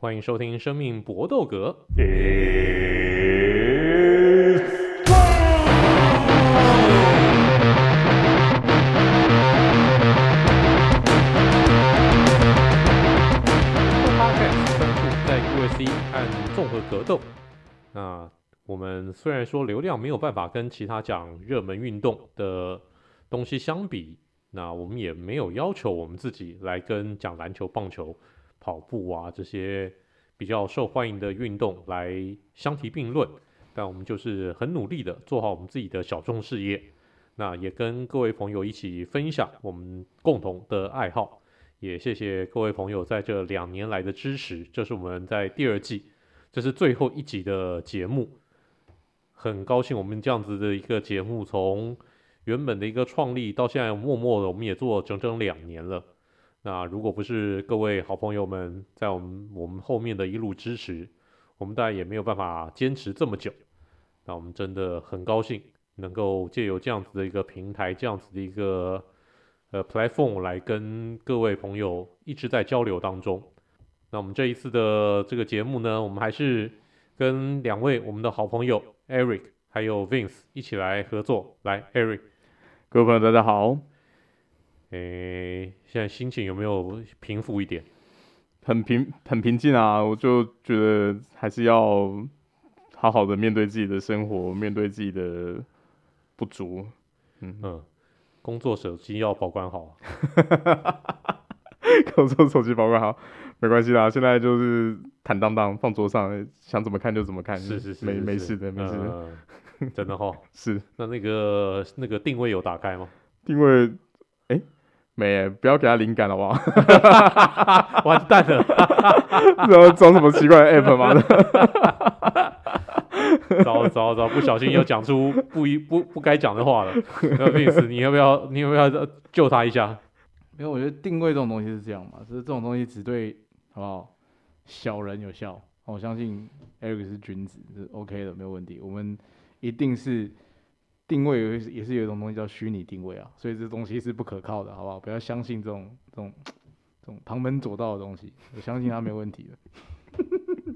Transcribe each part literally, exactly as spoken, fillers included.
歡迎收聽《生命搏鬥格》。Podcast 專注在 U F C 和綜合格鬥。那我們雖然說流量沒有辦法跟其他講熱門運動的東西相比，那我們也沒有要求我們自己來跟講籃球、棒球、跑步啊這些比較受歡迎的運動來相提並論，但我們就是很努力的做好我們自己的小眾事業，那也跟各位朋友一起分享我們共同的愛好，也謝謝各位朋友在這兩年來的支持。這是我們在第二季，這是最後一集的節目，很高興我們這樣子的一個節目從原本的一個創立到現在默默的我們也做了整整兩年了。那如果不是各位好朋友們在我們我們後面的一路支持，我們當然也沒有辦法堅持這麼久。那我們真的很高興能夠借由這樣子的一個平台，這樣子的一個呃 platform 來跟各位朋友一直在交流當中。那我們這一次的這個節目呢，我們還是跟兩位我們的好朋友 Eric 還有 Vince 一起來合作。來 Eric， 各位朋友大家好。 誒，現在心情有沒有平復一點？ 很平很平靜啊，我就覺得還是要好好的面對自己的生活，面對自己的不足。嗯嗯，工作手機要保管好。 工作手機保管好，沒關係啦。現在就是坦蕩蕩放桌上，想怎麼看就怎麼看。 是是是， 沒是沒事的，沒事的。 呃、真的哈、哦。 是。那那個那個定位有打開嗎？ 定位，哎。沒耶，不要給他靈感好不好？ 完蛋了！ 然後裝什麼奇怪的 app 嗎？ 糟糟糟，不小心又講出不一不不該講的話了。那 Vince， 你要不要你要不要救他一下？ 因為我覺得定位這種東西是這樣嘛，就是這種東西只對好不好小人有效。我相信 Eric 是君子，是 OK 的，沒有問題。我們一定是。定位也是有一種東西叫虛擬定位啊，所以這東西是不可靠的，好不好？不要相信這種這種這種旁門左道的東西，我相信他沒問題的。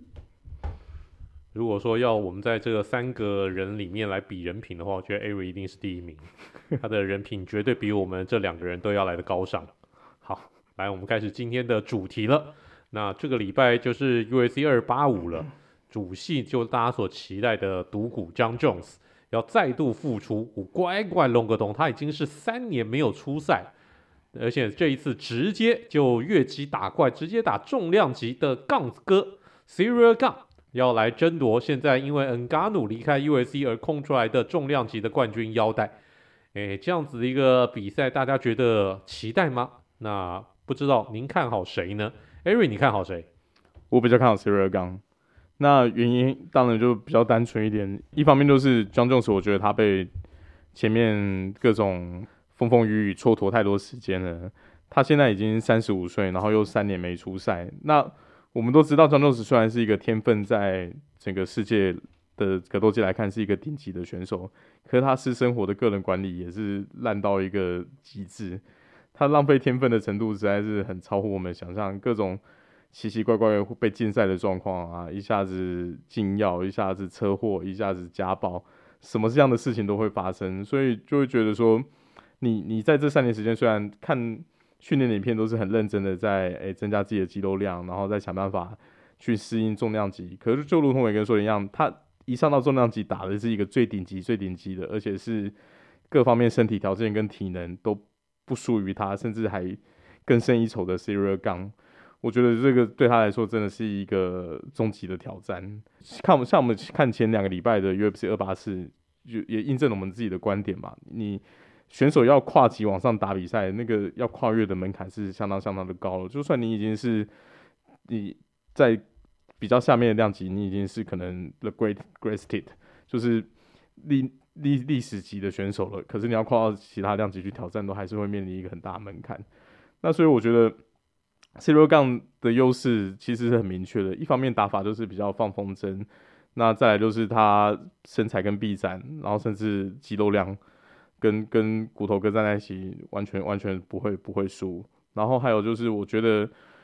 如果說要我們在這個三個人裡面來比人品的話，我覺得 Eric 一定是第一名，他的人品絕對比我們這兩個人都要來的高尚。好，來，我們開始今天的主題了。那這個禮拜就是 U F C 二八五了，主戲就大家所期待的獨骨 Jon Jones。要再度復出，乖乖龍格東，他已經是三年沒有出賽，而且這一次直接就越級打怪，直接打重量級的槓子哥 Ciryl Gane 要來爭奪現在因為 Ngannou 離開 U F C 而空出來的重量級的冠軍腰帶。誒，這樣子的一個比賽，大家覺得期待嗎？那不知道您看好誰呢 ？Eric 你看好誰？ 我比較看好 Ciryl Gane。那原因當然就比較單純一點，一方面就是 Jon Jones， 我覺得他被前面各種風風雨雨蹉跎太多時間了。他現在已經三十五歲，然後又三年沒出賽。那我們都知道 Jon Jones 雖然是一個天分在整個世界的格鬥界來看是一個頂級的選手，可是他私生活的個人管理也是爛到一個極致。他浪費天分的程度實在是很超乎我們想象，各種奇奇怪怪被禁賽的狀況啊，一下子禁藥，一下子車禍，一下子家暴，什麼這樣的事情都會發生，所以就會覺得說，你你在這三年時間，雖然看訓練的影片都是很認真的在誒、欸、增加自己的肌肉量，然後再想辦法去適應重量級，可是就如同我跟說的一樣，他一上到重量級打的是一個最頂級、最頂級的，而且是各方面身體條件跟體能都不輸於他，甚至還更勝一籌的 Ciryl Gane。我覺得這個對他來說真的是一個終極的挑戰。看我們像我們看前兩個禮拜的 U F C 二八四，也印證了我們自己的觀點嘛。你選手要跨級往上打比賽，那個要跨越的門檻是相當相當的高了。就算你已經是你在比較下面的量級，你已經是可能 the great greatest， 就是歷歷歷史級的選手了。可是你要跨到其他量級去挑戰，都還是會面臨一個很大的門檻。那所以我覺得Ciryl Gane的優勢其實是很明確的，一方面打法就是比較放風箏，那再來就是他身材跟臂展，然後甚至肌肉量跟跟骨頭哥站在一起，完全完全不會不會輸。然後還有就是我覺得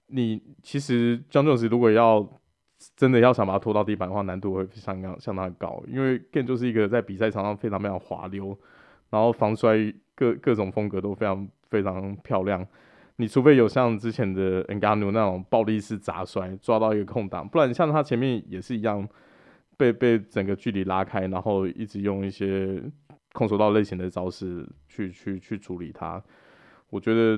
你其實 Jon Jones 如果要真的要想把他拖到地板的話，難度會相當相當高，因為 Gant 就是一個在比賽場上非常非常滑溜，然後防摔各各種風格都非常非常漂亮。你除非有像之前的 Ngannou 那種暴力式砸摔，抓到一個空檔，不然像他前面也是一樣被被整個距離拉開，然後一直用一些空手道類型的招式去去去處理他。我覺得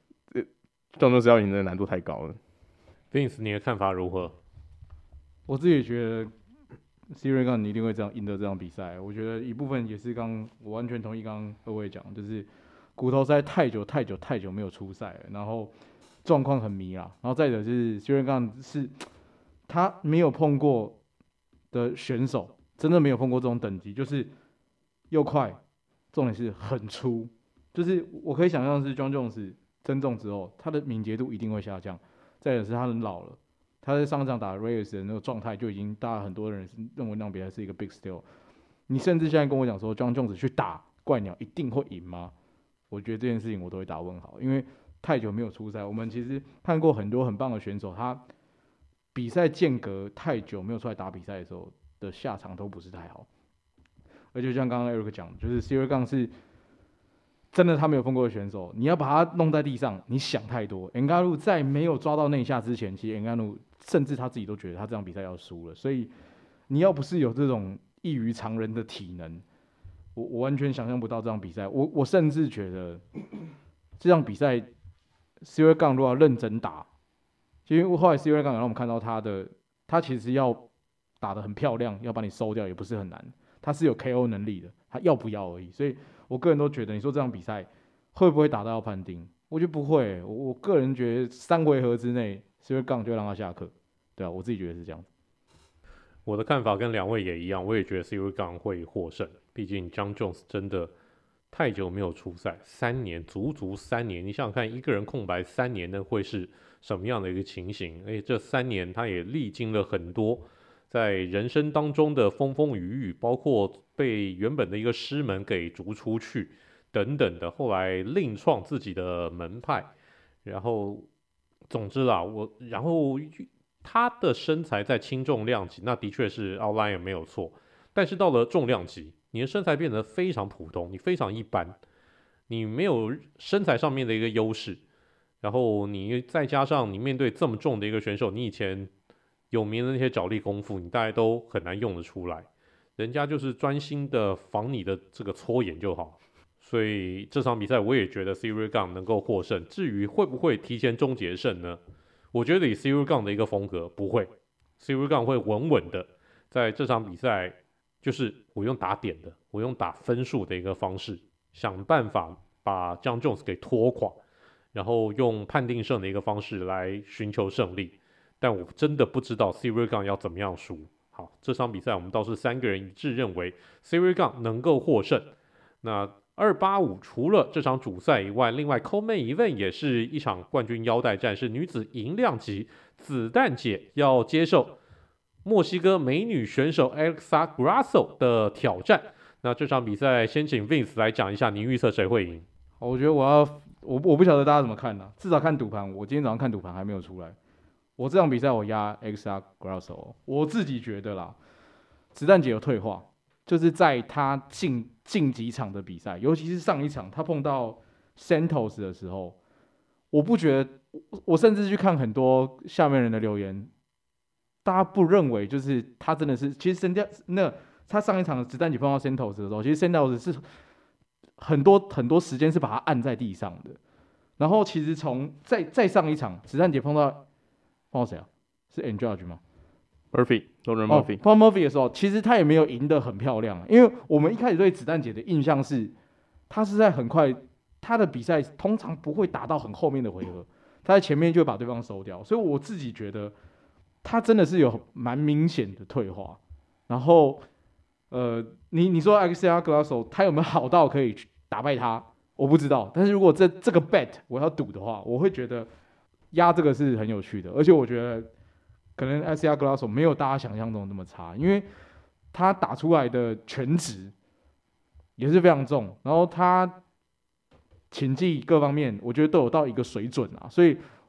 Jon Jones 要贏的難度太高了。 Vince， 你的看法如何？ 我自己也覺得 Ciryl Gane 你一定會這樣贏得這場比賽。我覺得一部分也是剛我完全同意剛剛二位講，就是骨頭實在太久太久太久沒有出賽了，然後狀況很迷啦。然後再者就是 Ciryl Gane 是他沒有碰過的選手，真的沒有碰過這種等級，就是又快，重點是很粗。就是我可以想象是 Jon Jones 增重之後，他的敏捷度一定會下降。再者是他很老了。他在上一場打 Reyes 的那個狀態就已經，大家很多人認為那場比賽是一個 big steal。你甚至現在跟我講說 ，Jon Jones 去打怪鳥一定會贏嗎？我覺得這件事情我都會打問號，因為太久沒有出賽。我們其實看過很多很棒的選手，他比賽間隔太久沒有出來打比賽的時候的下場都不是太好。而且像剛剛 Eric 講，就是 Ciryl Gane 是真的他沒有碰過的選手，你要把他弄在地上，你想太多。Ngannou 在沒有抓到內下之前，其實 Ngannou 甚至他自己都覺得他這場比賽要輸了，所以你要不是有這種異於常人的體能，我我完全想象不到這場比賽。我我甚至覺得這場比賽 Ciryl Gane 如果要認真打，因為後來 Ciryl Gane 讓我們看到他的，他其實要打得很漂亮，要把你收掉也不是很難，他是有 K O 能力的，他要不要而已。所以我個人都覺得，你說這場比賽會不會打到要判定？我覺得不會、欸。我我個人覺得三回合之內 Ciryl Gane 就讓他下課。對啊，我自己覺得是這樣子。 我的看法跟兩位也一樣，我也覺得 Ciryl Gane 會獲勝。畢竟 Jon Jones 真的太久沒有出賽，三年，足足三年。你想想看，一個人空白三年，那會是什麼樣的一個情形？而且這三年他也歷經了很多在人生當中的風風雨雨，包括被原本的一個師門給逐出去等等的，後來另創自己的門派。然後，總之啦，我然後。他的身材在輕重量級，那的確是 outlier 沒有錯。但是到了重量級，你的身材變得非常普通，你非常一般，你沒有身材上面的一個優勢。然後你再加上你面對這麼重的一個選手，你以前有名的那些爪力功夫，你大概都很難用得出來。人家就是專心的防你的這個搓眼就好。所以這場比賽我也覺得 Ciryl Gane 能夠獲勝。至於會不會提前終結勝呢？我覺得以 Ciryl Gane 的一個風格不會 ，Ciryl Gane 會穩穩的在這場比賽，就是我用打點的，我用打分數的一個方式，想辦法把 Jon Jones 給拖垮，然後用判定勝的一個方式來尋求勝利。但我真的不知道 Ciryl Gane 要怎麼樣輸。好，這場比賽我們倒是三個人一致認為 Ciryl Gane 能夠獲勝。那二八五除了這場主賽以外，另外 Co-Main Event 也是一場冠軍腰帶戰，是女子銀量級子彈姐要接受墨西哥美女選手 Alexa Grasso 的挑戰。那這場比賽先請 Vince 來講一下，您預測誰會贏？ 我覺得我要我我不曉得大家怎麼看呢、啊？至少看賭盤，我今天早上看賭盤還沒有出來。我這場比賽我壓 Alexa Grasso， 我自己覺得啦，子彈姐有退化。就是在他近近幾場的比賽，尤其是上一場他碰到 Santos 的時候，我不覺得，我甚至去看很多下面人的留言，大家不認為就是他真的是，其實 Santos 那他上一場的子彈姐碰到 Santos 的時候，其實 Santos 是很多很多時間是把他按在地上的，然後其實從再再上一場子彈姐碰到碰到誰啊？是 Andrade 嗎？ Murphy，Roman Murphy， 碰到 Murphy 的時候，其實他也沒有贏得很漂亮，因為我們一開始對子彈姐的印象是，他是在很快，他的比賽通常不會打到很後面的回合，他在前面就會把對方收掉，所以我自己覺得他真的是有蠻明顯的退化。然後，呃，你你說 Alexa Grasso 他有沒有好到可以打敗他？我不知道，但是如果這這個 bet 我要賭的話，我會覺得壓這個是很有趣的，而且我覺得。可能 Alexa Grasso 沒有大家想象中那麼差，因為他打出來的拳質也是非常重，然後他擒技各方面我覺得都有到一個水準啊，所以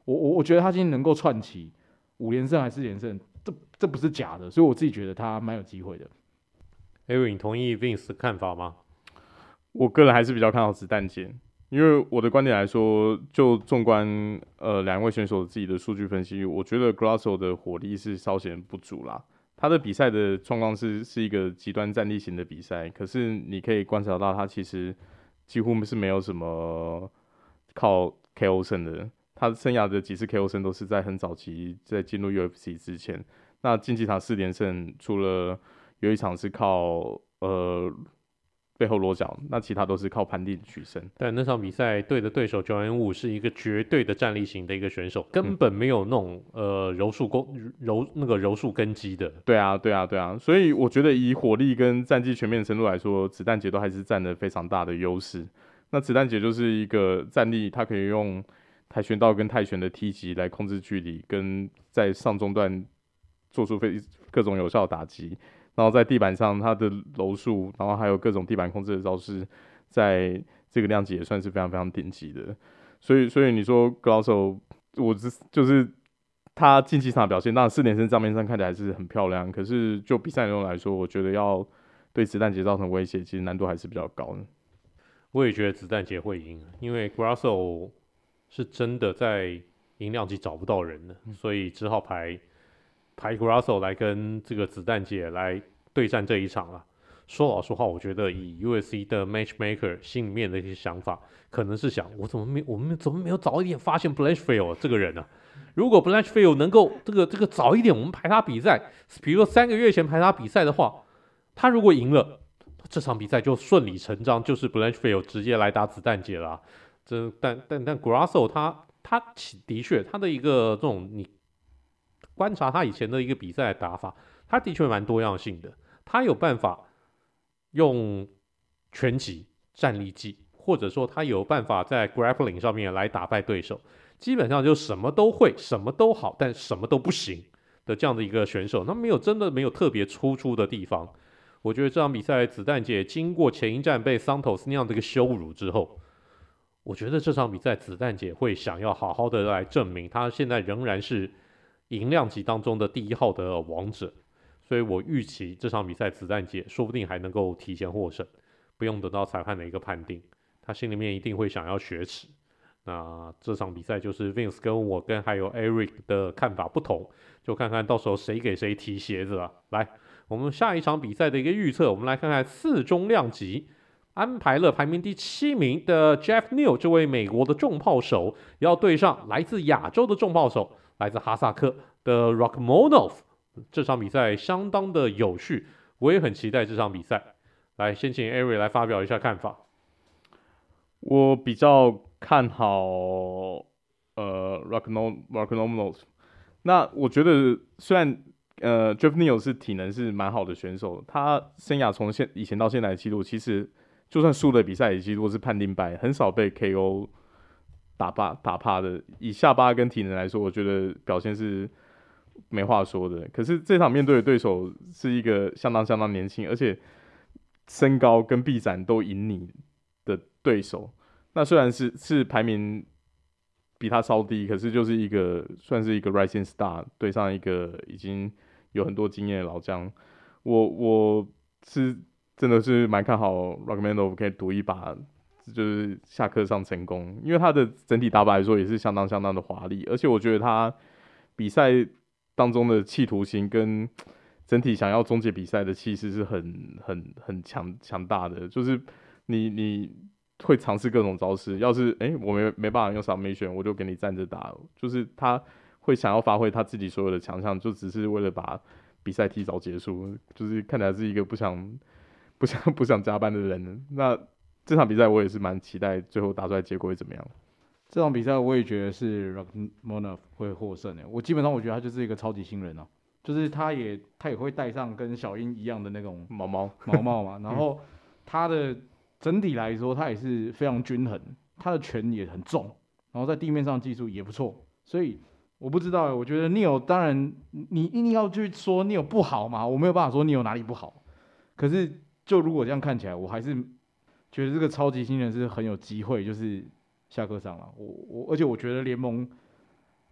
我我我覺得他今天能夠串起五連勝還是四連勝，這這不是假的，所以我自己覺得他蠻有機會的。 Eric， 你同意 Vince 的看法嗎？ 我個人還是比較看好子彈姐，因為我的觀點來說，就縱觀呃兩位選手自己的數據分析，我覺得 Grosso 的火力是稍顯不足啦。他的比賽的狀況是是一個極端戰力型的比賽，可是你可以觀察到他其實幾乎是沒有什麼靠 K O 勝的。他生涯的幾次 K O 勝都是在很早期在進入 U F C 之前。那競技場四連勝，除了有一場是靠呃背後裸絞，那其他都是靠盤地取勝。 但那場比賽對的對手 Joanne Wu 是一個絕對的戰力型的一個選手，根本沒有那種、嗯、呃柔術攻柔那個柔術根基的。 對啊，對啊，對啊。所以我覺得以火力跟戰績全面的程度來說，子彈姐都還是佔了非常大的優勢。那子彈姐就是一個戰力，她可以用跆拳道跟泰拳的踢擊來控制距離，跟在上中段做出非各種有效的打擊。然後在地板上，他的柔術，然後還有各種地板控制的招式，在這個量級也算是非常非常頂級的。所以，所以你說 Grosso， 我是就是他競技場的表現，當然四連勝賬面上看起來是很漂亮，可是就比賽內容來說，我覺得要對子彈姐造成威脅，其實難度還是比較高的。 我也覺得子彈姐會贏，因為 Grosso 是真的在銀量級找不到人了，所以只好排。排 Grosso 來跟這個子彈姐來對戰這一場啊。說老實話，我覺得以 U F C 的 Matchmaker 心裡面的一些想法，可能是想我怎麼沒我們怎麼沒有早一點發現 Blanchfield 這個人呢、啊？如果 Blanchfield 能夠這個這個早一點我們排他比賽，比如說三個月前排他比賽的話，他如果贏了，這場比賽就順理成章就是 Blanchfield 直接來打子彈姐了、啊。這但但但 Grosso 他他的確他的一個這種你。觀察他以前的一個比賽的打法，他的確蠻多樣性的。他有辦法用拳擊、戰力技，或者說他有辦法在 grappling 上面來打敗對手。基本上就什麼都會，什麼都好，但什麼都不行的這樣的一個選手。那沒有真的沒有特別突出的地方。我覺得這場比賽子彈姐經過前一戰被 Santos 那樣的一個羞辱之後，我覺得這場比賽子彈姐會想要好好的來證明，她現在仍然是。銀量級當中的第一號的王者，所以我預期這場比賽子彈姐說不定還能夠提前獲勝，不用等到裁判的一個判定，他心裡面一定會想要雪恥。那這場比賽就是 Vince 跟我跟還有 Eric 的看法不同，就看看到時候誰給誰提鞋子了。來，我們下一場比賽的一個預測，我們來看看次中量級安排了排名第七名的 Jeff Neal 這位美國的重炮手，要對上來自亞洲的重炮手。來自哈薩克的 Rakhmonov， 這場比賽相當的有趣，我也很期待這場比賽。來，先請 Eric 來發表一下看法。 我比較看好呃 Rakhmonov。那我覺得雖然呃 Jeff Neal 是體能是蠻好的選手，他生涯從現以前到現在的記錄，其實就算輸的比賽也幾乎是判定敗，很少被 K O。打怕打怕的，以下巴跟體能來說，我覺得表現是沒話說的。可是這場面對的對手是一個相當相當年輕，而且身高跟臂展都贏你的對手。那雖然是是排名比他稍低，可是就是一個算是一個 rising star 對上一個已經有很多經驗的老將。我我是真的是蠻看好 Rakhmonov 可以賭一把。就是下課上成功，因為他的整體打法來說也是相當相當的華麗，而且我覺得他比賽當中的企圖心跟整體想要終結比賽的氣勢是很很很強強大的。就是你你會嘗試各種招式，要是哎、欸、我沒沒辦法用 submission， 我就給你站着打。就是他會想要發揮他自己所有的強項，就只是為了把比賽提早結束。就是看起來是一個不想不想不想加班的人。那這場比賽我也是蠻期待，最後打出來結果會怎麼樣？ 這場比賽我也覺得是 Rakhmonov 會獲勝的。我基本上我覺得他就是一個超級新人啊，就是他也他也會戴上跟小鷹一樣的那種毛毛毛毛嘛，然後他的整體來說他也是非常均衡，他的拳也很重，然後在地面上技術也不錯，所以我不知道，我覺得 Neal 當然你一定要去說 Neal 不好嘛，我沒有辦法說 Neal 哪裡不好，可是就如果這樣看起來，我還是。覺得這個超級新人是很有機會，就是下課上了。我我而且我覺得聯盟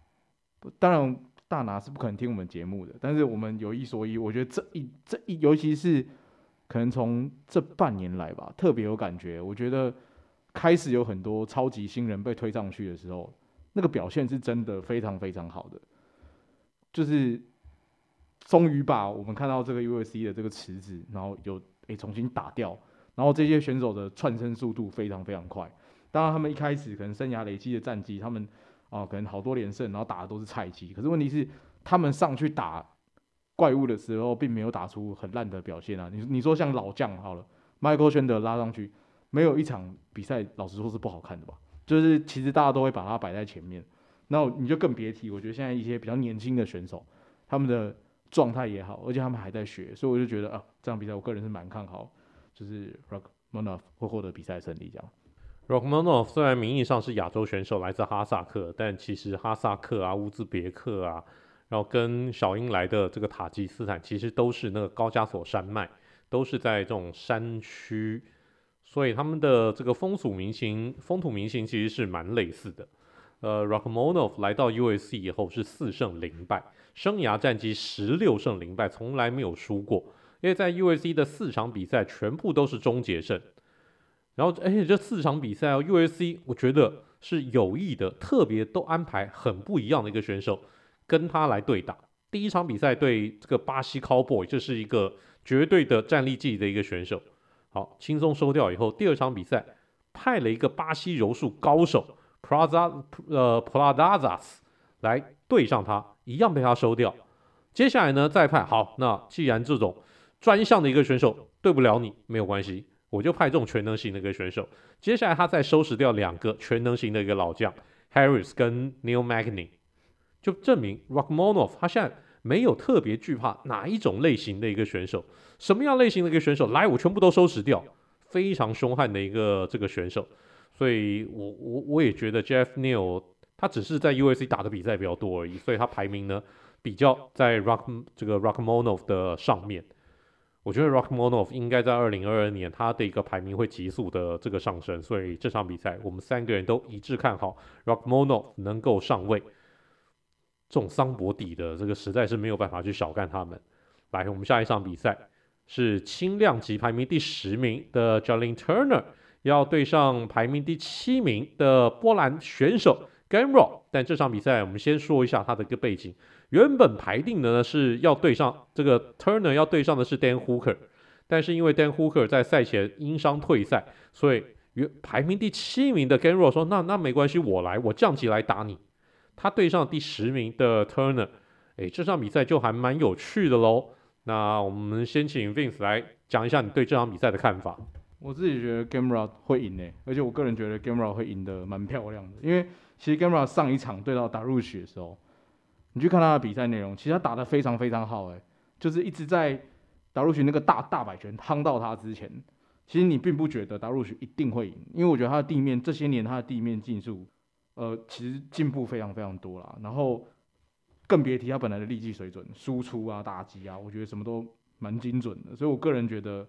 當然大拿是不可能聽我們節目的，但是我們有一說一，我覺得這一這一，尤其是可能從這半年來吧，特別有感覺。我覺得開始有很多超級新人被推上去的時候，那個表現是真的非常非常好的，就是終於把我們看到這個 U F C 的這個池子，然後有誒、欸、重新打掉，然後這些選手的竄升速度非常非常快。當然他們一開始可能生涯累積的戰績，他們啊、呃、可能好多連勝，然後打的都是菜雞。可是問題是，他們上去打怪物的時候，並沒有打出很爛的表現啊。你你說像老將好了 ，Michael Chandler 拉上去，沒有一場比賽老實說是不好看的吧？就是其實大家都會把它擺在前面，然後你就更別提，我覺得現在一些比較年輕的選手，他們的狀態也好，而且他們還在學，所以我就覺得啊，這場比賽我個人是蠻看好，就是 Rakhmonov 會獲得比賽勝利這樣。 Rakhmonov 雖然名義上是亞洲選手，來自哈薩克，但其實哈薩克啊、烏茲別克啊，然後跟小英來的這個塔吉斯坦，其實都是那個高加索山脈，都是在這種山區，所以他們的這個風俗民情、風土民情其實是蠻類似的。呃 ，Rakhmonov 來到 U F C 以後是四勝零敗，生涯戰績十六勝零敗，從來沒有輸過，因為在 U F C 的四場比賽全部都是終結勝。然後，而且這四場比賽哦 ，U F C 我覺得是有意的，特別都安排很不一樣的一個選手跟他來對打。第一場比賽對這個巴西 Cowboy， 這是一個絕對的戰力技的一個選手，好，輕鬆收掉以後，第二場比賽派了一個巴西柔術高手 Praza 呃 Pradazas 來對上他，一樣被他收掉。接下來呢，再派好，那既然這種專項的一個選手對不了你，沒有關係。我就派這種全能型的一個選手，接下來他再收拾掉兩個全能型的一個老將 Harris 跟 Neil Magny， 就證明 Rakhmonov 他現在沒有特別懼怕哪一種類型的一個選手，什麼樣類型的一個選手來我全部都收拾掉，非常兇悍的一個這個選手，所以我我我也覺得 Jeff Neal 他只是在 U F C 打的比賽比較多而已，所以他排名呢比較在 Rock 這個 Rakhmonov 的上面。我覺得 Rakhmonov 應該在二零二二年他的一個排名會急速的這個上升，所以這場比賽我們三個人都一致看好 Rakhmonov 能夠上位。這種桑博底的這個實在是沒有辦法去小看他們。來，我們下一場比賽是輕量級排名第十名的 Jalin Turner 要對上排名第七名的波蘭選手 Gamrot， 但這場比賽我們先說一下他的一個背景。原本排定的呢是要對上這個 Turner 要對上的是 Dan Hooker， 但是因為 Dan Hooker 在賽前因傷退賽，所以排名第七名的 Gamrot 說那那沒關係，我來，我降級來打你。他對上第十名的 Turner， 哎，這場比賽就還蠻有趣的嘍。那我們先請 Vince 來講一下你對這場比賽的看法。 我自己覺得 Gamrot 會贏誒，而且我個人覺得 Gamrot 會贏得蠻漂亮的，因為其實 Gamrot 上一場對到 Dariush 的時候，你去看他的比賽內容，其實他打得非常非常好，哎，就是一直在達魯許那個大大擺拳夯到他之前，其實你並不覺得達魯許一定會贏，因為我覺得他的地面這些年他的地面技術，呃，其實進步非常非常多啦。然後更別提他本來的力技水準、輸出啊、打擊啊，我覺得什麼都蠻精準的。所以我個人覺得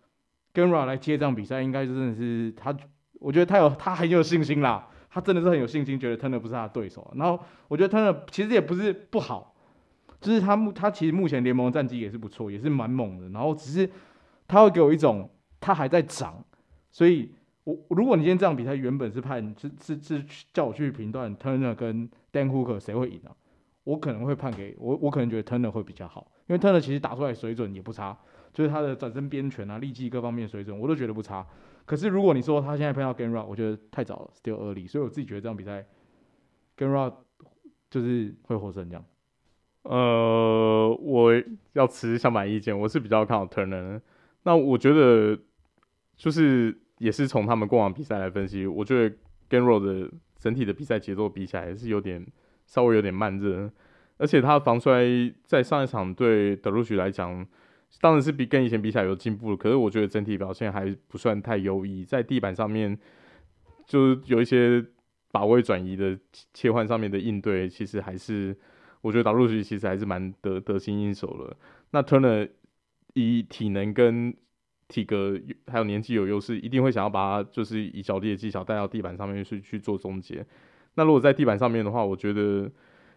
Gamrot 來接這場比賽，應該真的是他，我覺得他有他很有信心啦。他真的是很有信心，覺得 Turner 不是他的對手。然後我覺得 Turner 其實也不是不好，就是他目他其實目前聯盟的戰績也是不錯，也是蠻猛的。然後只是他會給我一種他還在長，所以我如果你今天這場比賽原本是判是是是叫我去評斷 Turner 跟 Dan Hooker 誰會贏啊，我可能會判給我我可能覺得 Turner 會比較好，因為 Turner 其實打出來水準也不差，就是他的轉身邊拳啊、力技各方面水準我都覺得不差。可是如果你說他現在碰到 Gamrot， 我覺得太早了 ，still early， 所以我自己覺得這場比賽 Gamrot 就是會獲勝這樣。 呃，我要持相反意見，我是比較看好 Turner。那我覺得就是也是從他們過往比賽來分析，我覺得 Gamrot 的整體的比賽節奏比起來是有點稍微有點慢熱，而且他的防摔在上一場對德魯許來講，當然是比跟以前比起來有進步了，可是我覺得整體表現還不算太優異，在地板上面就是有一些把位轉移的切換上面的應對，其實還是我覺得達魯許其實還是蠻得得心應手了。那 Turner 以體能跟體格還有年紀有優勢，一定會想要把他就是以腳力的技巧帶到地板上面去去做終結。那如果在地板上面的話，我覺得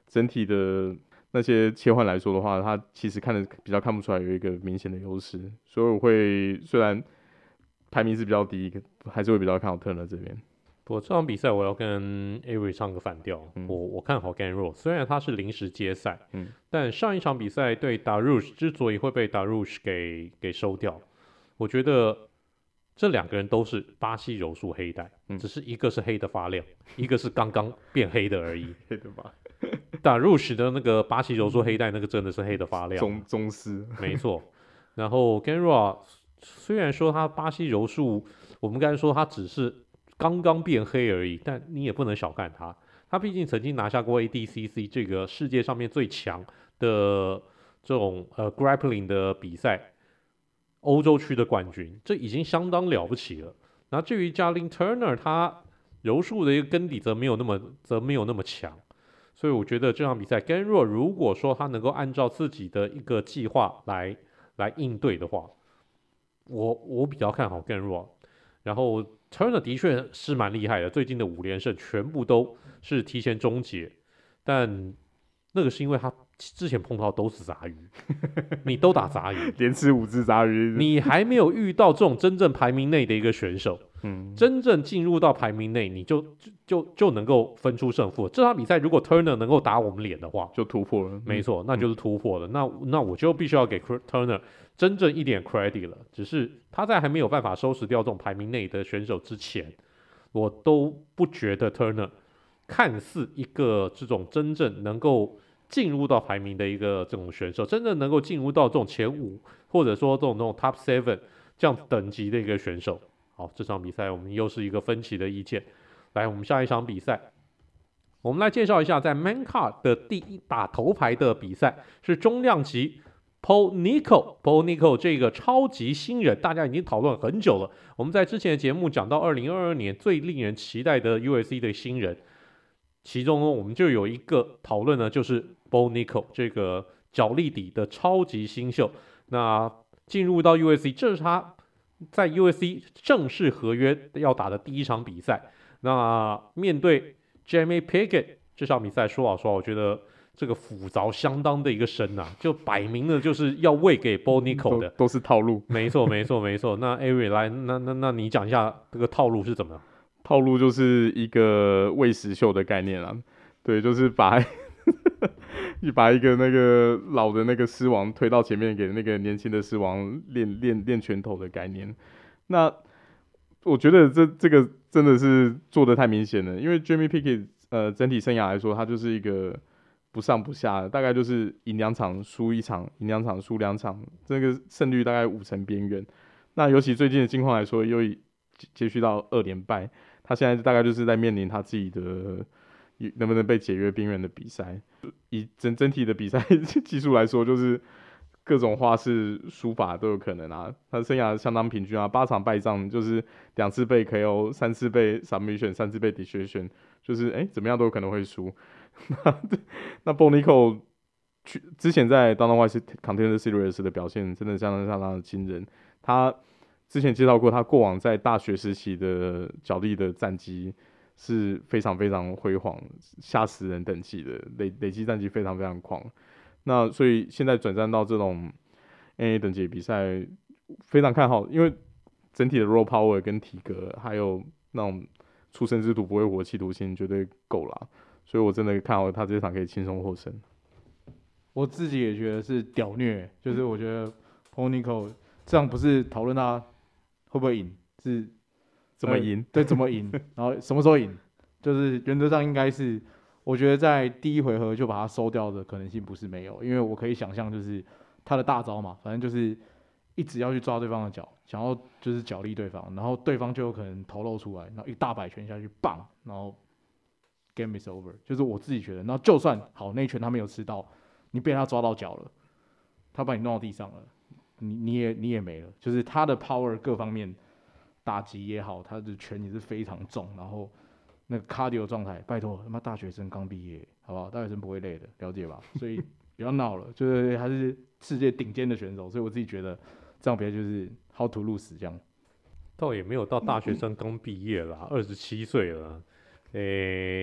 整體的那些切換來說的話，他其實看的比較看不出來有一個明顯的優勢，所以我會雖然排名是比較低，還是會比較看好 Turner 這邊。 不過這場比賽我要跟 Avery 唱個反調，嗯、我我看好 Ganrod， 雖然他是臨時接賽，嗯、但上一場比賽對 Dariush 之所以會被 Dariush 給給收掉，我覺得這兩個人都是巴西柔術黑帶，嗯、只是一個是黑的發亮，一個是剛剛變黑的而已。黑的吧？Dariush 的那個巴西柔術黑帶，那個真的是黑的發亮， 宗宗師， 沒錯。然後 Ganrod 雖然說他巴西柔術，我們剛才說他只是剛剛變黑而已，但你也不能小看他。他畢竟曾經拿下過 A D C C 這個世界上面最強的這種呃 grappling 的比賽，歐洲區的冠軍，這已經相當了不起了。那至於 Jalin Turner， 他柔術的一個根底則沒有那麼則沒有那麼強，所以我覺得這場比賽 Ganrod 如果說他能夠按照自己的一個計劃來來應對的話，我我比較看好 Ganrod。然後 Turner 的確是蠻厲害的，最近的五連勝全部都是提前終結，但那個是因為他之前碰到都是雜魚，你都打雜魚， 連吃五隻雜魚， 你還沒有遇到這種真正排名內的一個選手，嗯，真正進入到排名內，你就就就就能夠分出勝負。這場比賽如果 Turner 能夠打我們臉的話， 就突破了， 沒錯，那就是突破了。嗯、那那我就必須要給 Turner 真正一點 credit 了。只是他在還沒有辦法收拾掉這種排名內的選手之前，我都不覺得 Turner 看似一個這種真正能夠進入到排名的一個這種選手，真正能夠進入到這種前五，或者說這種這種 top seven 這樣等級的一個選手。好，這場比賽我們又是一個分歧的意見。來，我們下一場比賽，我們來介紹一下在 Main Card 的第一打頭牌的比賽是中量級 Paul Nico Paul Nico 這個超級新人，大家已經討論很久了。我們在之前的節目講到二零二二年最令人期待的 U F C 的新人，其中呢我們就有一個討論呢，就是 Paul Nico 這個角力底的超級新秀。那進入到 U F C， 這是他在 U F C 正式合約要打的第一場比賽。那面對 Jamie Pickett 這場比賽，說老實話，我覺得這個斧鑿相當的一個深啊，就擺明了就是要餵給 Paul Nico 的， 都，都是套路。 沒錯，沒錯，沒錯。那 Avery 來，那那那你講一下這個套路是怎麼樣？ 套路就是一個餵食秀的概念啦，對，就是把把一個那個老的那個獅王推到前面，給那個年輕的獅王練練練拳頭的概念。那我覺得這這個真的是做得太明顯了，因為 Jamie Pickett 呃整體生涯來說，他就是一個不上不下的，大概就是贏兩場輸一場，贏兩場輸兩場，這個勝率大概五成邊緣。那尤其最近的境況來說，又接續到二連敗，他現在大概就是在面臨他自己的能不能被解約邊緣的比賽。以整整體的比賽技術來說，就是各種花式輸法都有可能啊，他生涯相當平均啊，八場敗仗就是兩次被 K O， 三次被 submission， 三次被 decision， 就是哎、欸、怎麼樣都有可能會輸。那 Paul Nico 之前在 Dana White Contender Series 的表現真的相當相當的驚人。他之前介紹過，他過往在大學時期的角力的戰績是非常非常輝煌，嚇死人等級的，累累積戰績非常非常狂。那所以現在轉戰到這種 N A 等級的比賽，非常看好，因為整體的 raw power 跟體格，還有那種出生之徒不會活企圖心絕對夠啦，所以我真的看好他這場可以輕鬆獲勝。 我自己也覺得是屌虐，就是我覺得 Paul Nico 這樣不是討論他會不會贏，是怎麼贏、呃？ 對，怎麼贏？然後什麼時候贏？就是原則上應該是。我覺得在第一回合就把他收掉的可能性不是沒有，因為我可以想象就是他的大招嘛，反正就是一直要去抓對方的腳，想要就是角力對方，然後對方就有可能頭露出來，然後一大擺拳下去，棒，然後 game is over。就是我自己覺得，然後就算好那一拳他沒有吃到，你被他抓到腳了，他把你弄到地上了，你你也你也沒了。就是他的 power 各方面打擊也好，他的拳也是非常重，然後。那個 cardio 狀態，拜託他媽大學生剛畢業，好不好？大學生不會累的，了解吧？所以不要鬧了，就是還是世界頂尖的選手，所以我自己覺得這樣比賽就是 how to lose 這樣。 倒也沒有到大學生剛畢業啦，二十七歲了，誒、欸，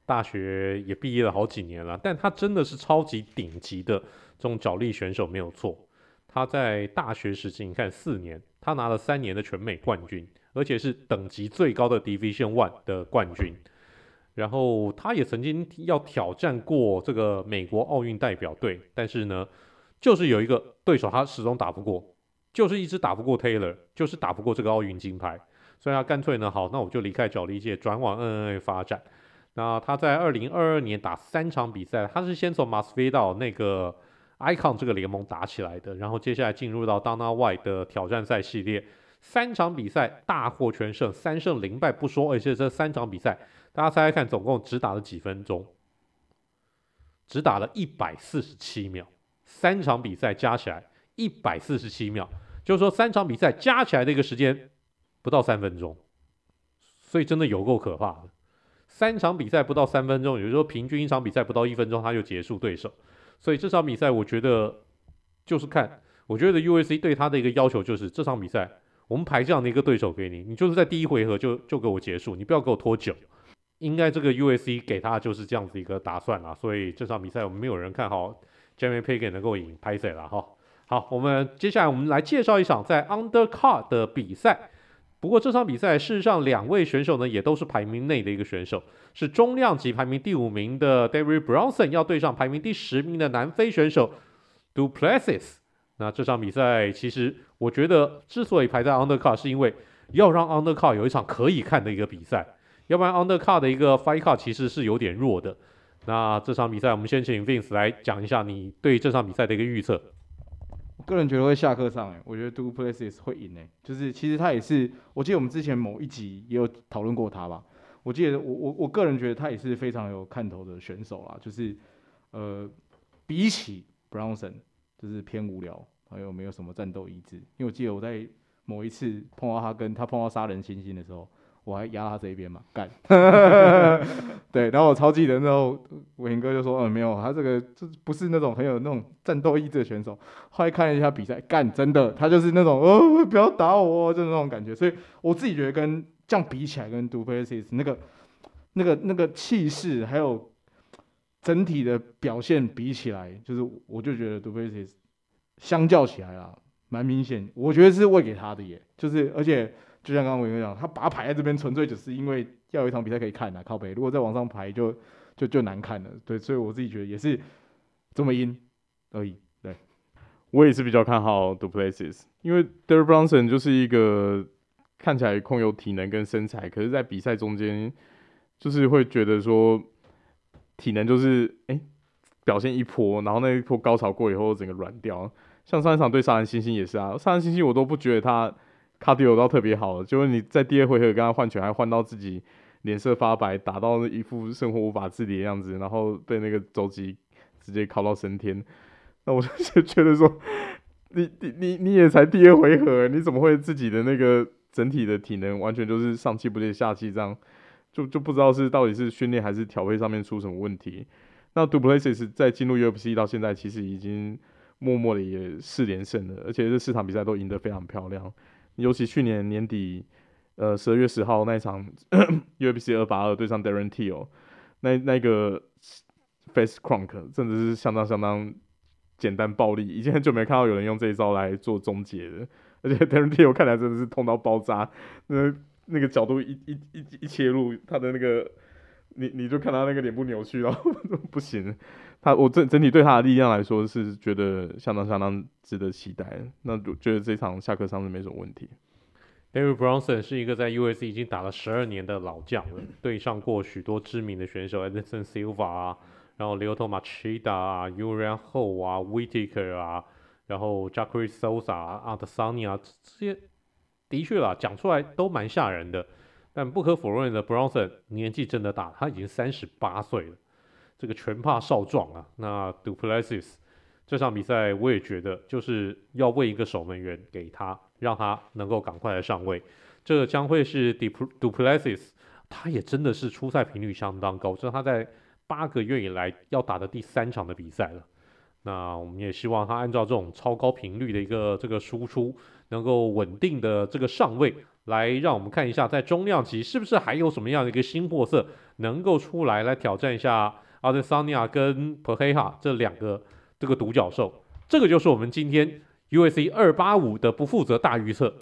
大學也畢業了好幾年了，但他真的是超級頂級的這種角力選手沒有錯。他在大學時期，你看四年，他拿了三年的全美冠軍，而且是等級最高的 Division One 的冠軍。然後他也曾經要挑戰過這個美國奧運代表隊，但是呢，就是有一個對手他始終打不過，就是一直打不過 Taylor， 就是打不過這個奧運金牌，所以他乾脆呢，好，那我就離開角力界，轉往 N N A 發展。那他在二零二二年打三場比賽，他是先從馬斯菲道那個 Icon 這個聯盟打起來的，然後接下來進入到 Dana White 的挑戰賽系列，三場比賽大獲全勝，三勝零敗不說，而且這三場比賽。大家猜猜看，總共只打了幾分鐘？只打了一百四十七秒，三場比賽加起來一百四十七秒，就是說三場比賽加起來的一個時間不到三分鐘，所以真的有夠可怕的。三場比賽不到三分鐘，也就是說平均一場比賽不到一分鐘他就結束對手，所以這場比賽我覺得就是看，我覺得 U F C 對他的一個要求就是這場比賽我們排這樣的一個對手給你，你就是在第一回合就就給我結束，你不要給我拖久。應該這個 U F C 給他就是這樣子一個打算啦，所以這場比賽我們沒有人看好 Jamie Pickett 能夠贏，拍謝啦哈。好，我們接下來我們來介紹一場在 Undercard 的比賽。不過這場比賽事實上兩位選手呢也都是排名內的一個選手，是中量級排名第五名的 David Bronson 要對上排名第十名的南非選手 Du Plessis。那這場比賽其實我覺得之所以排在 Undercard 是因為要讓 Undercard 有一場可以看的一個比賽。要不然 Undercard 的一個 Fight Card 其實是有點弱的。那這場比賽，我們先請 Vince 來講一下你對這場比賽的一個預測。 我個人覺得會下課上，哎，我覺得 Du Plessis 會贏，哎，就是其實他也是，我記得我們之前某一集也有討論過他吧。我記得我我我個人覺得他也是非常有看頭的選手啦，就是呃，比起 Bronson 就是偏無聊，還有沒有什麼戰鬥意志。因為我記得我在某一次碰到他跟他碰到殺人猩猩的時候。我還壓他這一邊嘛，幹，對，然後我超記得那時候偉霆哥就說，嗯，沒有，他這個就不是那種很有那種戰鬥意志的選手。後來看了一下比賽，幹，真的，他就是那種，哦，不要打我，就是那種感覺。所以我自己覺得跟這樣比起來，跟 Du Plessis 那個那個那個氣勢，還有整體的表現比起來，就是我就覺得 Du Plessis 相較起來啦，蠻明顯，我覺得是餵給他的耶，就是而且。就像剛剛偉哥講，他把他排在這邊，純粹只是因為要有一場比賽可以看啊，靠北。如果再往上排就，就就就難看了。對，所以我自己覺得也是這麼贏而已。對， 我也是比較看好 Du Plessis， 因為 Derek Brunson 就是一個看起來空有體能跟身材，可是在比賽中間就是會覺得說體能就是哎、欸、表現一波，然後那一波高潮過以後整個軟掉。像上一場對殺人猩猩也是啊，殺人猩猩我都不覺得他。cardio 到特別好了，就是你在第二回合跟他換拳，還換到自己臉色發白，打到一副生活無法自理的樣子，然後被那個肘擊直接敲到升天。那我就覺得說，你你你你也才第二回合，你怎麼會自己的那個整體的體能完全就是上氣不接下氣這樣？就就不知道是到底是訓練還是調配上面出什麼問題。那 Du Plessis 在進入 U F C 到現在，其實已經默默的也四連勝了，而且這四場比賽都贏得非常漂亮。尤其去年年底，呃，十二月十號那一場U F C 二八二對上 Darren Till， 那那個 Face Crunk 真的是相當相當簡單暴力，已經很久沒看到有人用這一招來做終結了。而且 Darren Till 看起來真的是痛到爆炸，那那個角度一一一一切入，他的那個你你就看他那個臉部扭曲，然後不行。他我整整體對他的力量來說是覺得相當相當值得期待，那我覺得這場下課上是沒什麼問題。 David Bronson 是一個在 U F C 已經打了十二年的老將了，對上過許多知名的選手 Anderson Silva 啊，然後 Lyoto Machida 啊 Uriah Hall 啊 Whittaker 啊，然後 Jacare Souza 啊 Adesanya 啊，這些的確啦，講出來都蠻嚇人的。但不可否認的 ，Bronson 年紀真的大，他已經三十八歲了。這個拳怕少壯啊，那 Du Plessis 這場比賽我也覺得就是要餵一個守門員給他，讓他能夠趕快來上位。這個將會是 Du Plessis， 他也真的是出賽頻率相當高，這是他在八個月以來要打的第三場的比賽了。那我們也希望他按照這種超高頻率的一個這個輸出，能夠穩定的這個上位， 來讓我們看一下，在中量級是不是還有什麼樣的一個新貨色能夠出來，來挑戰一下Adesanya 跟 Pereira 這兩個這個獨角獸。這個就是我們今天 U F C 二八五的不負責大預測。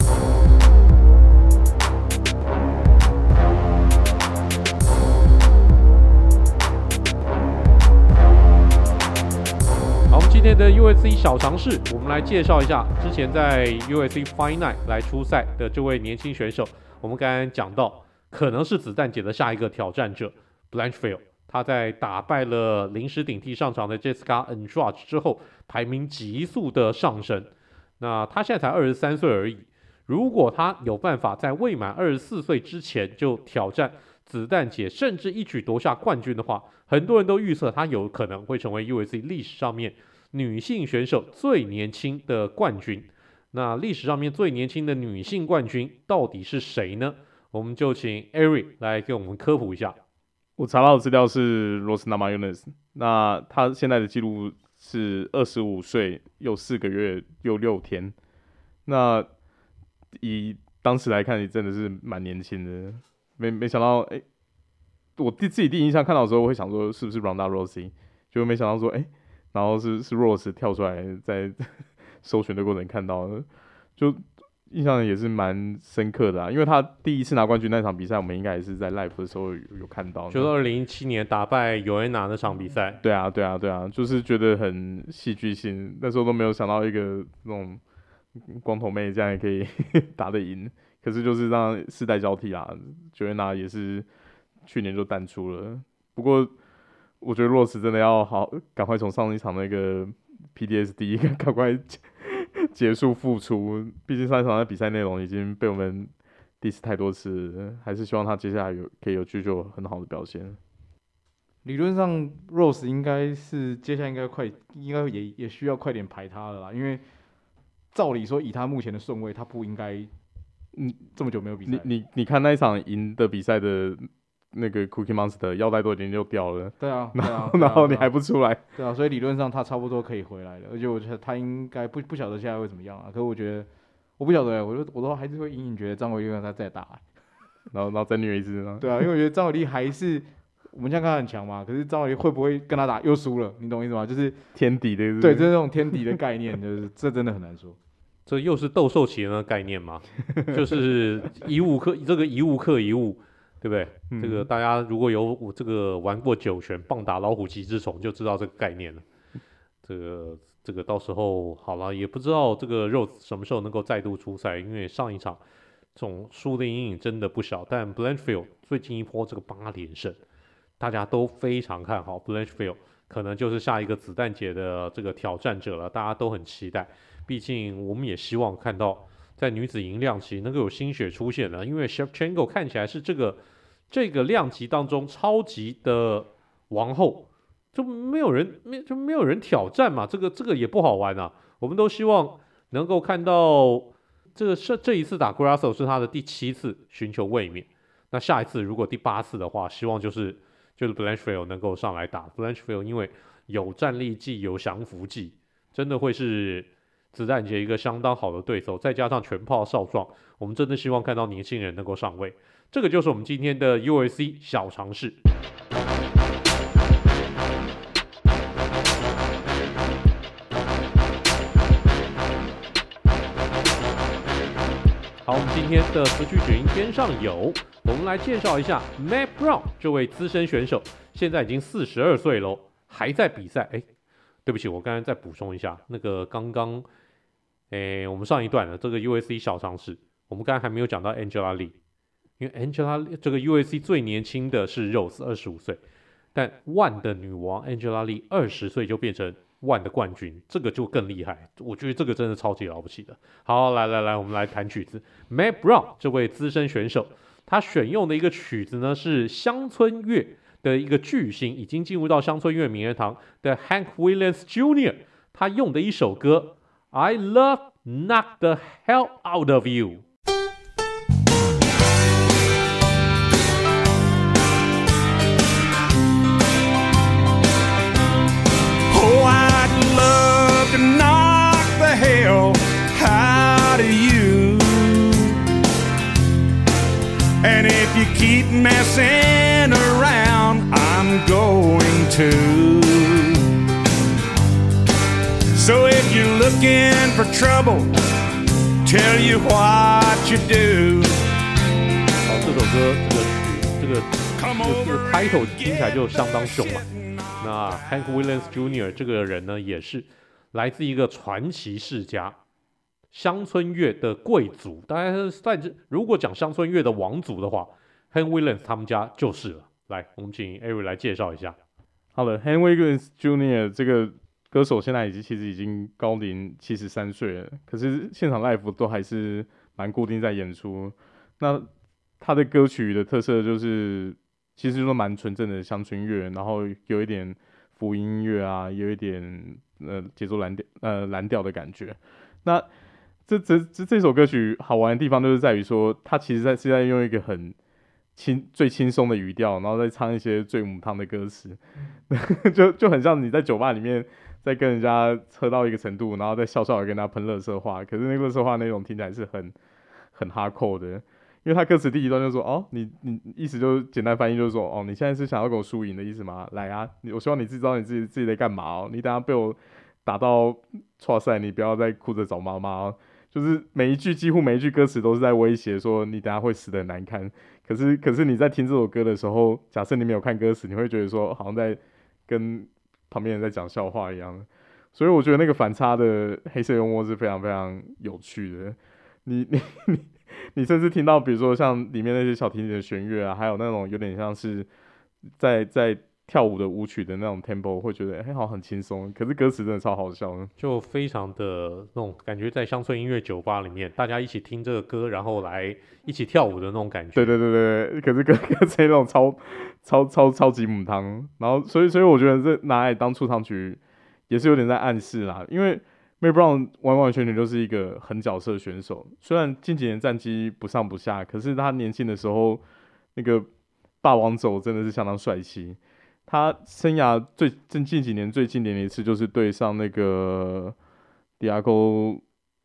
今天的 U F C 小常識，我們來介紹一下之前在 U F C Fight Night 來出賽的這位年輕選手。我們剛剛講到，可能是子彈姐的下一個挑戰者 Blanchfield。他在打敗了臨時頂替上場的 Jessica Andrade 之後，排名急速的上升。那他現在才二十三歲而已。如果他有辦法在未滿二十四歲之前就挑戰子彈姐，甚至一舉奪下冠軍的話，很多人都預測他有可能會成為 U F C 歷史上面女性選手最年輕的冠軍。那歷史上面最年輕的女性冠軍到底是誰呢？我們就請 Eric 來給我們科普一下。 我查到的資料是 Rose Namajunas， 那他現在的記錄是二十五歲又四個月又六天。那以當時來看，真的是蠻年輕的。沒沒想到，哎、欸，我第自己第一印象看到的時候，我會想說是不是 Ronda Rousey， 就沒想到說，哎、欸。然後是是 Rose 跳出來，在搜尋的過程看到的，就印象也是蠻深刻的啊。因為他第一次拿冠軍那場比賽，我們應該也是在 live 的時候有，有看到， 就是二零一七年打敗尤安娜那場比賽。 對啊，對啊，對啊，就是覺得很戲劇性。那時候都沒有想到一個那種光頭妹這樣也可以打得贏，可是就是讓世代交替啊。尤安娜也是去年就淡出了，不過。我覺得 Rose 真的要好，趕快從上一場那個 P T S D 趕快結束復出。畢竟上一場的比賽內容已經被我們 diss 太多次了，還是希望他接下來有可以有繼續有很好的表現。 理論上 Rose 應該是接下來應該快，應該也也需要快點排他了啦，因為照理說以他目前的順位，他不應該嗯這麼久沒有比賽。 你你你看那一場贏的比賽的。那個 Cookie Monster 腰帶都已經就掉了， 對啊， 然後、 對啊然後你還不出來， 對啊，所以理論上他差不多可以回來了，而且我覺得他應該不不曉得現在會怎麼樣啊，可是我覺得我不曉得，我就我都還是會隱隱覺得張偉麗讓他再打， 然後然後再虐一次呢， 對啊，因為我覺得張偉麗還是我們現在看他很強嘛，可是張偉麗會不會跟他打又輸了，你懂我意思嗎？就是天敵的， 對，就是這種天敵的概念，就是這真的很難說。 這又是鬥獸棋的概念嘛，就是一物克這個一物克一物。對不對？嗯、這個大家如果有這個玩過九泉棒打老虎機之蟲，就知道這個概念了。這個這個到時候好了，也不知道這個 Rose 什麼時候能夠再度出賽，因為上一場這種輸的陰影真的不小。但 Blanchfield 最近一波這個八連勝，大家都非常看好 Blanchfield， 可能就是下一個子彈姐的這個挑戰者了，大家都很期待。畢竟我們也希望看到在女子銀量級能夠有新血出現了，因為 Shevchenko 看起來是這個。這個量級當中超級的王後，就沒有人沒就沒有人挑戰嘛，這個這個也不好玩啊。我們都希望能夠看到這個是這一次打 Grasso 是他的第七次尋求衛冕，那下一次如果第八次的話，希望就是就是 Blanchfield 能夠上來打 Blanchfield， 因為有戰力技有降服技，真的會是子彈姐一個相當好的對手，再加上全炮少壯，我們真的希望看到年輕人能夠上位。這個就是我們今天的 U F C 小常識。好，我們今天的詞曲卷音邊上有，我們來介紹一下 Matt Brown 這位資深選手，現在已經四十二歲嘍，還在比賽。哎，對不起，我剛才再補充一下，那個剛剛，哎，我們上一段的這個 U F C 小常識，我們剛才還沒有講到 Angela Lee。因為 Angela 這個 U F C 最年輕的是 Rose 二十五歲，但 ONE 的女王 Angela Lee 二十歲就變成 ONE 的冠軍，這個就更厲害。我覺得這個真的超級了不起的。好，來來來，我們來彈曲子。Matt Brown 這位資深選手，他選用的一個曲子呢是鄉村樂的一個巨星，已經進入到鄉村樂名人堂的 Hank Williams Junior 他用的一首歌 I Love Knock the Hell Out of You。 Hell out of you. If you keep messing around, I'm going to. So if you're looking for trouble, tell you what you do. 好，这首歌这个曲这个这个开头聽起來就相當兇嘛。那 Hank Williams Junior 這個人呢，也是來自一個傳奇世家，鄉村樂的貴族。當然，在這如果講鄉村樂的王族的話 ，Hank Williams 他們家就是了。來，我們請 Eric 來介紹一下。 好了 ，Hank Williams Junior 這個歌手現在已經其實已經高齡七十三歲了，可是現場 live 都還是蠻固定在演出。那他的歌曲的特色就是其實就是蠻純正的鄉村樂，然後有一點福音音樂啊，有一點呃節奏藍調呃藍調的感覺。那這這這這首歌曲好玩的地方就是在於說，他其實在是在用一個很輕最輕鬆的語調，然後再唱一些最母湯的歌詞，就就很像你在酒吧裡面在跟人家喝到一個程度，然後再笑笑的跟他噴垃圾話，可是那個垃圾話內容聽起來是很很 hardcore 的。因為他歌詞第一段就說哦，你你意思就是簡單翻譯就是說哦，你現在是想要跟我輸贏的意思嗎？來啊，我希望你自己知道你自己自己在幹嘛哦。你等下被我打到挫賽，你不要再哭着找媽媽哦。就是每一句幾乎每一句歌詞都是在威脅說你等下會死得很難看。可是可是你在聽這首歌的時候，假設你沒有看歌詞，你會覺得說好像在跟旁邊人在講笑話一樣。所以我覺得那個反差的黑色幽默是非常非常有趣的。你你你。你甚至聽到，比如說像裡面那些小提琴的弦樂啊，還有那種有點像是在在跳舞的舞曲的那種 tempo， 會覺得哎、欸，好像很輕鬆。可是歌詞真的超好笑的， 就非常的那種感覺，在鄉村音樂酒吧裡面，大家一起聽這個歌，然後來一起跳舞的那種感覺。 對對對對，可是歌歌詞那種超超超超級母湯，然後所以所以我覺得這拿來當出場曲也是有點在暗示啦，因為。Mel Brown 完完全全就是一個狠角色選手，雖然近幾年戰績不上不下，可是他年輕的時候那個霸王走真的是相當帥氣。他生涯最近近幾年最經典的一次就是對上那個 Diego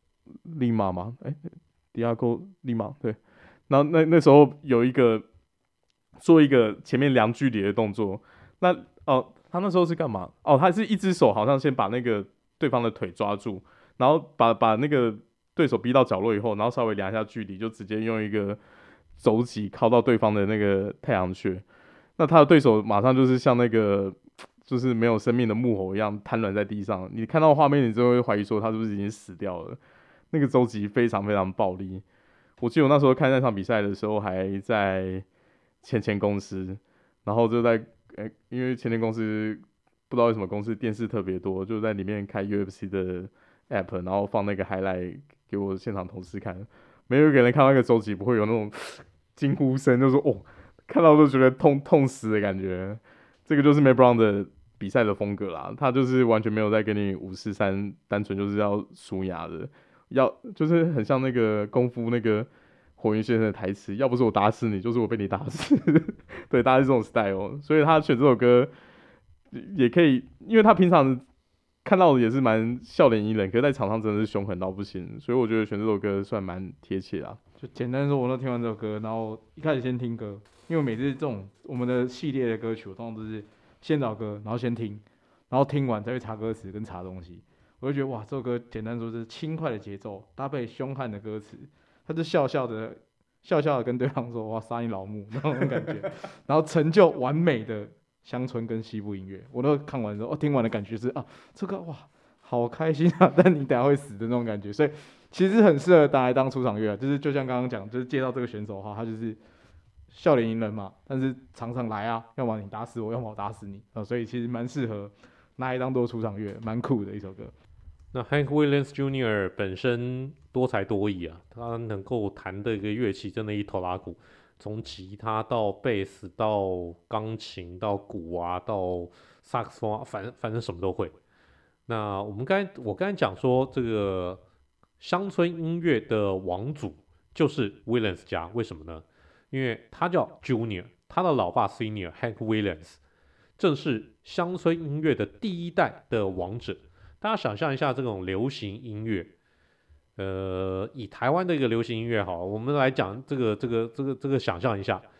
Lima 嘛，哎 Diego Lima 對，然後那那時候有一個做一個前面量距離的動作，那哦他那時候是幹嘛？哦他是一隻手好像先把那個。對方的腿抓住，然後把把那個對手逼到角落以後，然後稍微量一下距離，就直接用一個肘擊靠到對方的那個太陽穴。那他的對手馬上就是像那個就是沒有生命的木偶一樣癱軟在地上。你看到畫面，你就會懷疑說他是不是已經死掉了。那個肘擊非常非常暴力。我記得我那時候看那場比賽的時候，還在前前公司，然後就在、欸、因為前前公司。不知道為什麼公司電視特別多，就在裡面開 U F C 的 app， 然後放那個 highlight 給我現場同事看。沒有一個人看到那個周琦不會有那種驚呼聲，就說哦，看到都覺得痛痛死的感覺。這個就是 Mel Brown 的比賽的風格啦，他就是完全沒有在跟你五四三，單純就是要輸壓的，要就是很像那個功夫那個火雲先生的台詞，要不是我打死你，就是我被你打死。對，大概是這種 style， 所以他選這首歌。也可以，因為他平常看到的也是蠻笑臉迎人，可是在場上真的是兇狠到不行，所以我覺得選這首歌算蠻貼切啊。 就簡單說，我都聽完這首歌，然後一開始先聽歌，因為每次這種我們的系列的歌曲，我通常都是先找歌，然後先聽，然後聽完再去查歌詞跟查東西。我就覺得哇，這首歌簡單說是輕快的節奏搭配兇悍的歌詞，他就笑笑的笑笑的跟對方說哇，殺你老母那種感覺，然後成就完美的。鄉村跟西部音樂，我都看完之後，哦，聽完的感覺是啊，這個哇，好開心啊！但你等下會死的那種感覺，所以其實很適合拿來當出場樂啊。就是就像剛剛講，就是介紹這個選手的話，他就是笑臉迎人嘛，但是常常來啊，要麼你打死我，要麼我打死你啊，所以其實蠻適合拿來當做出場樂，蠻酷的一首歌。 那 Hank Williams Junior 本身多才多藝啊，他能夠彈的一個樂器真的一頭拉鼓。從吉他到貝斯到鋼琴到鼓啊到薩克斯風啊，反正反正什麼都會。那我們剛才我剛才講說，這個鄉村音樂的王祖就是 Williams 家，為什麼呢？因為他叫 Junior， 他的老爸 Senior Hank Williams 正是鄉村音樂的第一代的王者。大家想象一下這種流行音樂。呃，以台灣的一個流行音樂好，我們來講這個這個這個這個想象一下，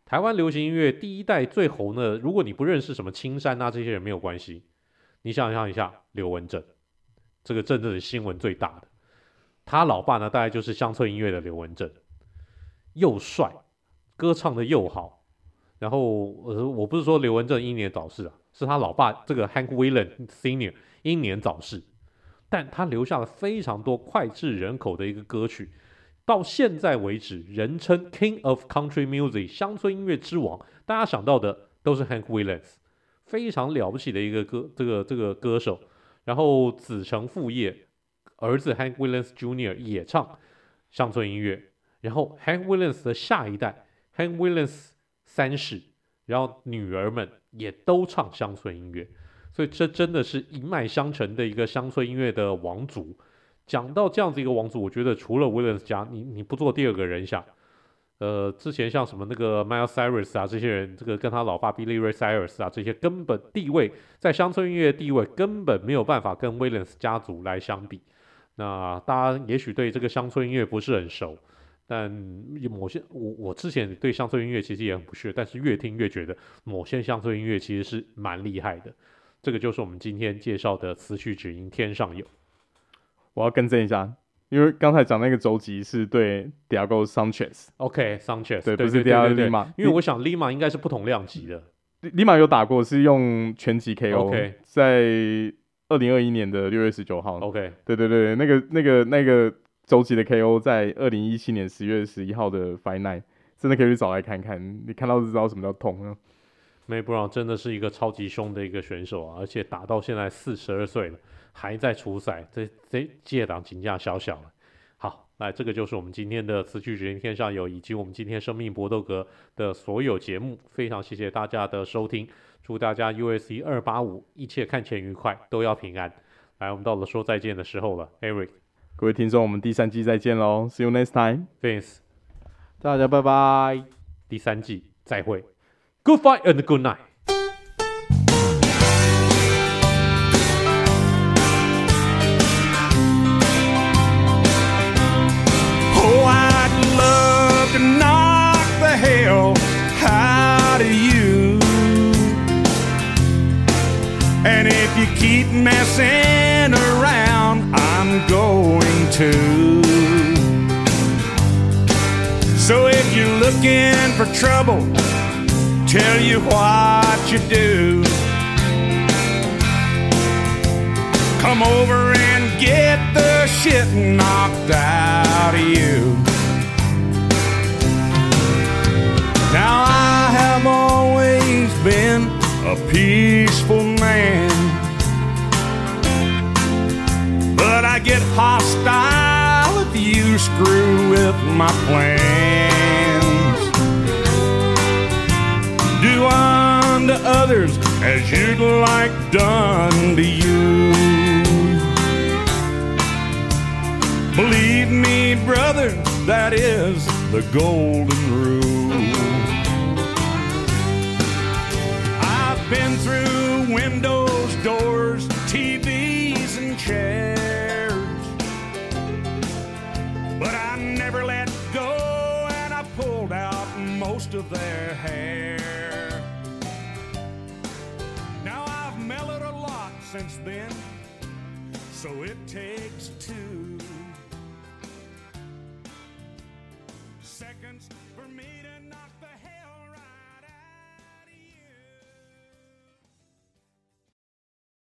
台灣流行音樂第一代最紅的，如果你不認識什麼青山啊這些人沒有關係，你想象一下劉文正，這個真正的新聞最大的，他老爸呢大概就是鄉村音樂的劉文正，又帥，歌唱的又好，然後呃我不是說劉文正英年早逝啊，是他老爸這個 Hank Williams Senior 英年早逝，但他留下了非常多膾炙人口的一個歌曲。到現在為止，人稱 King of Country Music 鄉村音樂之王，大家想到的都是 Hank Williams， 非常了不起的一個歌，這個這個歌手。然後子承父業，兒子 Hank Williams Junior 也唱鄉村音樂。然後 Hank Williams 的下一代 Hank Williams 三世，然後女兒們也都唱鄉村音樂，所以這真的是一脈相承的一個鄉村音樂的王族。講到這樣子一個王族，我覺得除了 Williams 家，你你不做第二個人想，呃，之前像什麼那個 Miles Cyrus 啊，這些人，這個跟他老爸 Billy Ray Cyrus 啊，這些根本地位在鄉村音樂的地位根本沒有辦法跟 Williams 家族來相比。那大家也許對這個鄉村音樂不是很熟，但某些我我之前對鄉村音樂其實也很不屑，但是越聽越覺得某些鄉村音樂其實是蠻厲害的。這個就是我們今天介紹的詞曲只應天上有。 我要更正一下，因為剛才講那個週集是對 Thiago Sanchez。OK， Sanchez， 對，不是 Thiago Lima， 因為我想 Lima 應該是不同量級的。 Lima 有打過，是用拳擊 K O，okay. 在二零二一年的六月十九號。OK， 對對對，那個那個那個週集的 K O 在二零一七年十月十一號的 Fight Night， 真的可以去找來看看，你看到就知道什麼叫痛啊。 May Brown 真的是一個超級兇的一個選手啊，而且打到現在四十二歲了。還在出賽，這這屆檔評價小小了。好，來，這個就是我們今天的詞曲只應天上有，以及我們今天生命搏鬥格的所有節目。非常謝謝大家的收聽，祝大家 U S C 二八五一切看錢愉快，都要平安。來，我們到了說再見的時候了 ，Eric， 各位聽眾，我們第三季再見嘍 ，See you next time，Vince， 大家拜拜， 第三季再會 ，Good fight and good night。 And if you keep messing around, I'm going to. So if you're looking for trouble, tell you what you do. Come over and get the shit knocked out of you. Now I have always been a peaceful man, but I get hostile if you screw with my plans. Do unto others as you'd like done to you. Believe me, brother, that is the golden rule. Been through windows, doors, T Vs, and chairs, but I never let go, and I pulled out most of their hair. Now I've mellowed a lot since then, so it takes two.